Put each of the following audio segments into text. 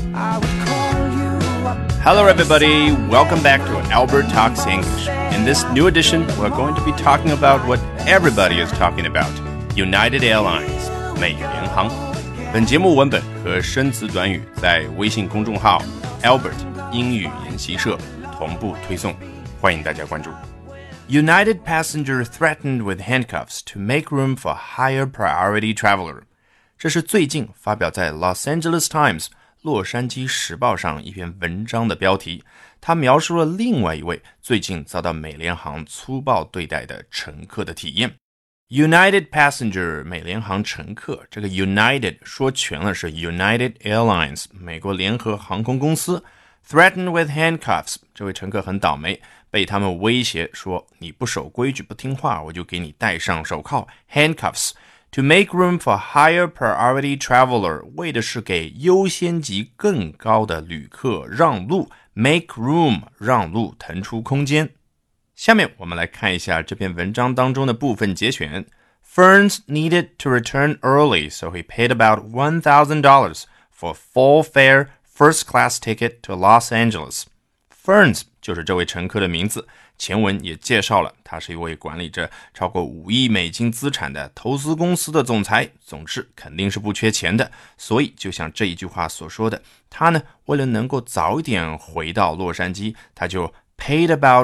Hello everybody, welcome back to Albert Talks English. In this new edition, we're going to be talking about what everybody is talking about, United Airlines, 美联航。本节目文本和生词短语在微信公众号 Albert 英语研习社同步推送，欢迎大家关注。United passenger threatened with handcuffs to make room for higher priority traveler. 这是最近发表在 Los Angeles Times 洛杉矶时报上一篇文章的标题，它描述了另外一位最近遭到美联航粗暴对待的乘客的体验。United passenger 美联航乘客，这个 United 说全了是 United Airlines 美国联合航空公司 threatened with handcuffs 这位乘客很倒霉，被他们威胁说你不守规矩不听话我就给你戴上手铐 handcuffs To make room for higher priority traveler 为的是给优先级更高的旅客让路 make room 让路腾出空间。下面我们来看一下这篇文章当中的部分节选。Ferns needed to return early, so he paid about $1,000 for full fare first class ticket to Los Angeles. Ferns 就是这位乘客的名字，前文也介绍了，他是一位管理着超过5亿美金资产的投资公司的总裁，总之肯定是不缺钱的，所以就像这一句话所说的，他呢为了能够早一点回到洛杉矶，他就 paid about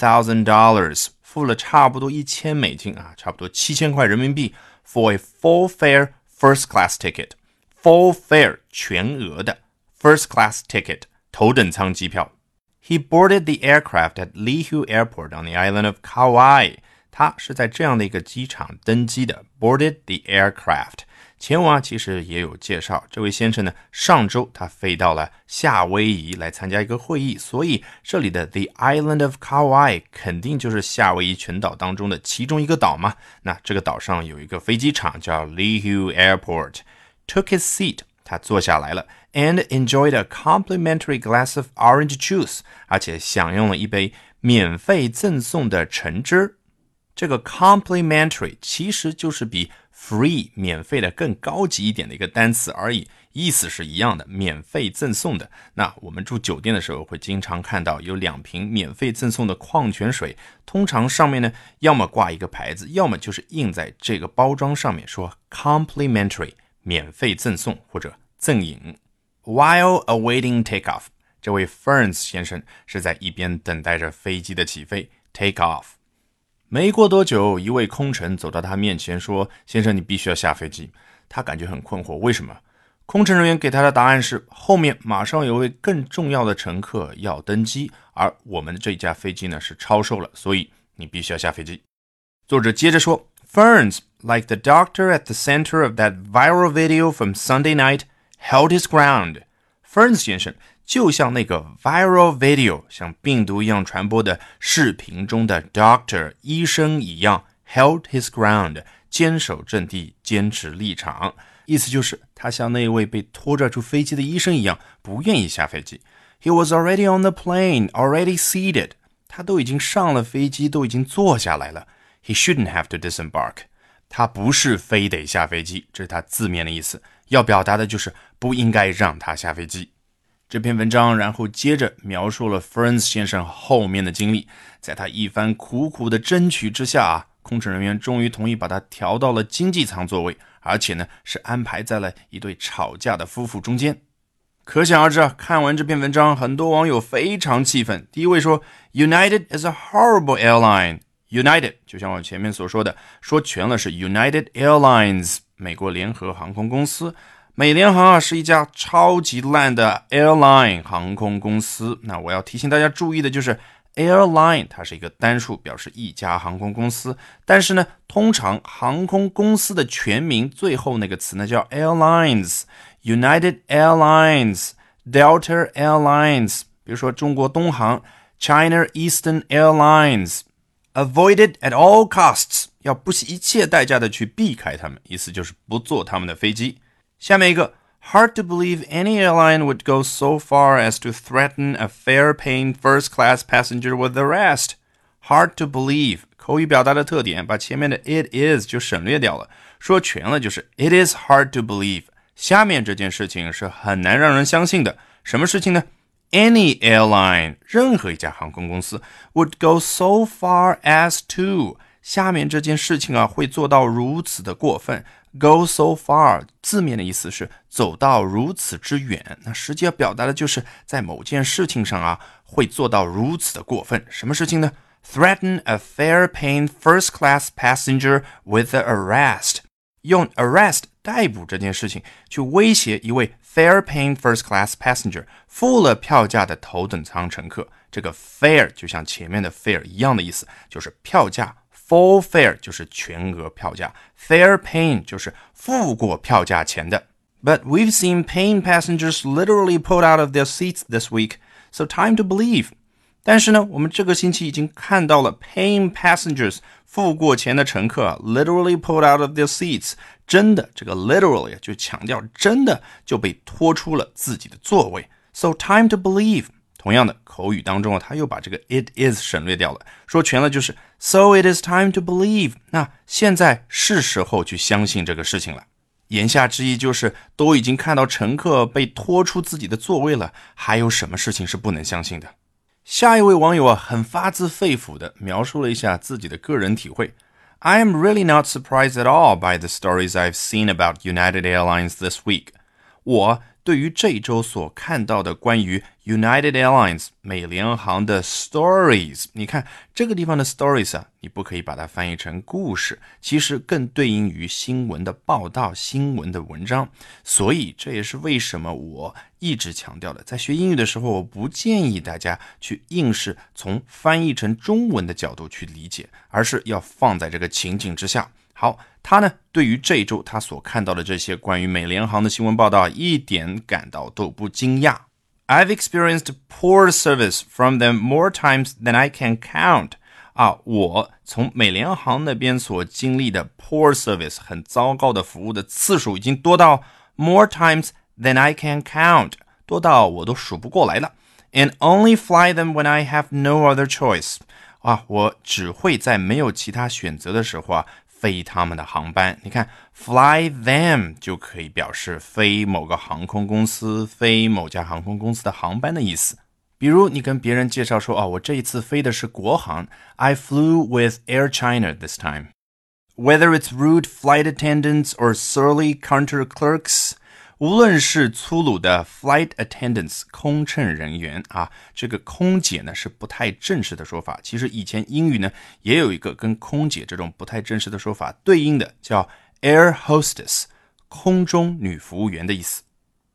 $1,000 付了差不多1000美金啊，差不多7000块人民币 for a full fare first class ticket. Full fare 全额的 first class ticket 头等舱机票。He boarded the aircraft at Lihue Airport on the island of Kauai. 他是在这样的一个机场登机的 boarded the aircraft. 前文其实也有介绍，这位先生呢，上周他飞到了夏威夷来参加一个会议，所以这里的 the island of Kauai 肯定就是夏威夷群岛当中的其中一个岛嘛。那这个岛上有一个飞机场叫 Lihue Airport. Took his seat.他坐下来了 and enjoyed a complimentary glass of orange juice 而且享用了一杯免费赠送的橙汁。这个 complimentary 其实就是比 free 免费的更高级一点的一个单词而已，意思是一样的，免费赠送的。那我们住酒店的时候会经常看到有2瓶免费赠送的矿泉水，通常上面呢要么挂一个牌子，要么就是印在这个包装上面说 complimentary免费赠送或者赠饮。 While awaiting takeoff 这位 Ferns 先生是在一边等待着飞机的起飞 take off。 没过多久，一位空乘走到他面前说，先生你必须要下飞机。他感觉很困惑，为什么？空乘人员给他的答案是，后面马上有位更重要的乘客要登机，而我们的这架飞机呢是超售了，所以你必须要下飞机。作者接着说， Ferns, like the doctor at the center of that viral video from Sunday night, held his ground. Ferns 先生就像那个 viral video 像病毒一样传播的视频中的 doctor 医生一样 held his ground 坚守阵地，坚持立场，意思就是他像那位被拖拽出飞机的医生一样不愿意下飞机。 He was already on the plane, already seated. 他都已经上了飞机，都已经坐下来了。 He shouldn't have to disembark.他不是非得下飞机，这是他字面的意思，要表达的就是不应该让他下飞机。这篇文章然后接着描述了 Ferns 先生后面的经历，在他一番苦苦的争取之下空乘人员终于同意把他调到了经济舱座位，而且呢是安排在了一对吵架的夫妇中间。可想而知看完这篇文章，很多网友非常气愤。第一位说 United is a horrible airline。United 就像我前面所说的，说全了是 United Airlines 美国联合航空公司。美联航是一家超级烂的 airline 航空公司。那我要提醒大家注意的就是 airline 它是一个单数，表示一家航空公司，但是呢通常航空公司的全名最后那个词呢叫 airlines， United Airlines, Delta Airlines， 比如说中国东航 China Eastern Airlines。Avoid it at all costs 要不惜一切代价的去避开他们，意思就是不坐他们的飞机。下面一个 Hard to believe any airline would go so far as to threaten a fare-paying first-class passenger with arrest. Hard to believe 口语表达的特点，把前面的 it is 就省略掉了，说全了就是 It is hard to believe 下面这件事情是很难让人相信的，什么事情呢？ Any airline 任何一家航空公司 would go so far as to 下面这件事情啊会做到如此的过分。 Go so far 字面的意思是走到如此之远，那实际要表达的就是在某件事情上啊会做到如此的过分。什么事情呢？ Threaten a fare-paying first-class passenger with the arrest 用 arrest 逮捕这件事情去威胁一位 fare-paying first-class passenger 付了票价的头等舱乘客。这个 fare 就像前面的 fare 一样的意思，就是票价。Full fare 就是全额票价， fare-paying 就是付过票价钱的。But we've seen paying passengers literally pulled out of their seats this week, so time to believe. 但是呢，我们这个星期已经看到了 paying passengers 付过钱的乘客 literally pulled out of their seats 真的，这个 literally 就强调真的就被拖出了自己的座位。So time to believe。同样的，口语当中他又把这个 it is 省略掉了，说全了就是 So it is time to believe。 那现在是时候去相信这个事情了。言下之意就是都已经看到乘客被拖出自己的座位了，还有什么事情是不能相信的？下一位网友啊，很发自肺腑的描述了一下自己的个人体会。I am really not surprised at all by the stories I've seen about United Airlines this week. 我对于这周所看到的关于 United Airlines 美联航的 stories， 你看这个地方的 stories 啊，你不可以把它翻译成故事，其实更对应于新闻的报道，新闻的文章。所以这也是为什么我一直强调的，在学英语的时候，我不建议大家去硬是从翻译成中文的角度去理解，而是要放在这个情景之下。好，他呢对于这一周他所看到的这些关于美联航的新闻报道一点感到都不惊讶。I've experienced poor service from them more times than I can count. 我从美联航那边所经历的 poor service 很糟糕的服务的次数已经多到 more times than I can count， 多到我都数不过来了。And only fly them when I have no other choice. 我只会在没有其他选择的时候飞他们的航班。你看 fly them 就可以表示飞某个航空公司，飞某家航空公司的航班的意思。比如你跟别人介绍说我这一次飞的是国航， I flew with Air China this time. Whether it's rude flight attendants or surly counter clerks，无论是粗鲁的 flight attendants 空乘人员这个空姐呢是不太正式的说法，其实以前英语呢也有一个跟空姐这种不太正式的说法对应的，叫 air hostess 空中女服务员的意思。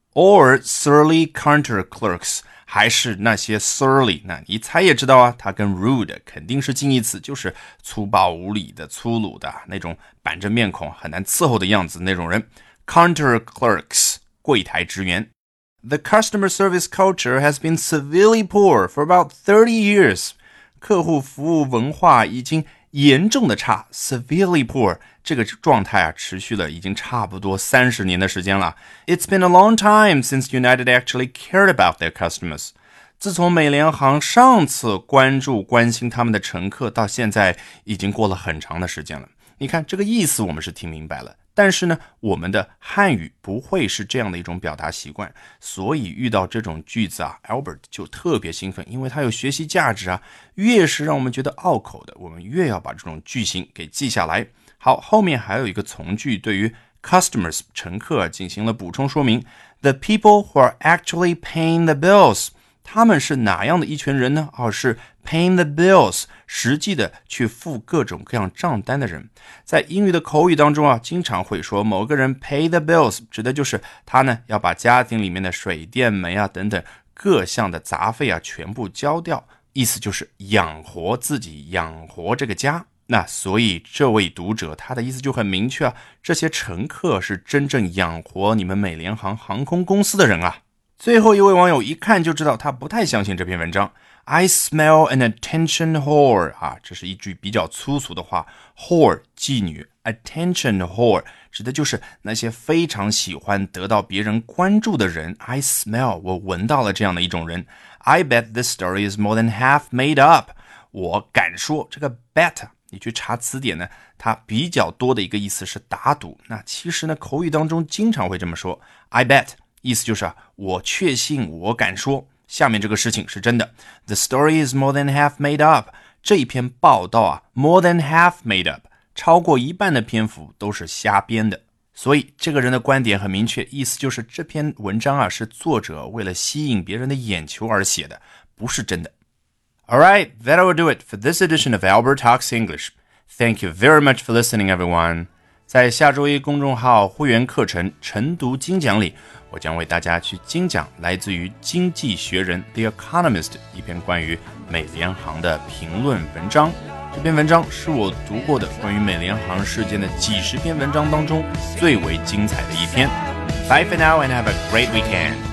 or surly counter clerks 还是那些 surly， 那一猜也知道它跟 rude 肯定是近义词，就是粗暴无礼的，粗鲁的那种板着面孔很难伺候的样子那种人。Counter clerks 柜台职员。 The customer service culture has been severely poor for about 30 years. 客户服务文化已经严重的差， severely poor 这个状态持续了已经差不多30年的时间了。 It's been a long time since United actually cared about their customers. 自从美联航上次关心他们的乘客到现在已经过了很长的时间了。你看这个意思我们是听明白了，但是呢我们的汉语不会是这样的一种表达习惯，所以遇到这种句子Albert 就特别兴奋，因为它有学习价值越是让我们觉得拗口的，我们越要把这种句型给记下来。好，后面还有一个从句对于 customers 乘客进行了补充说明。 The people who are actually paying the bills， 他们是哪样的一群人呢？是 paying the bills 实际的去付各种各样账单的人。在英语的口语当中经常会说某个人 pay the bills， 指的就是他呢要把家庭里面的水电煤等等各项的杂费全部交掉，意思就是养活自己，养活这个家。那所以这位读者他的意思就很明确这些乘客是真正养活你们美联航航空公司的人最后一位网友一看就知道他不太相信这篇文章。 I smell an attention whore 这是一句比较粗俗的话， whore 妓女， attention whore 指的就是那些非常喜欢得到别人关注的人。 I smell 我闻到了这样的一种人。 I bet this story is more than half made up， 我敢说这个 bet 你去查词典呢，它比较多的一个意思是打赌。那其实呢，口语当中经常会这么说 I bet， 意思就是我确信，我敢说下面这个事情是真的。 The story is more than half made up， 这一篇报道more than half made up， 超过一半的篇幅都是瞎编的。所以这个人的观点很明确，意思就是这篇文章是作者为了吸引别人的眼球而写的，不是真的。Alright, that will do it for this edition of Albert Talks English. Thank you very much for listening, everyone. 在下周一公众号会员课程晨读精讲里，我将为大家去精讲来自于经济学人 The Economist 一篇关于美联航的评论文章。这篇文章是我读过的关于美联航事件的几十篇文章当中最为精彩的一篇。Bye for now and have a great weekend.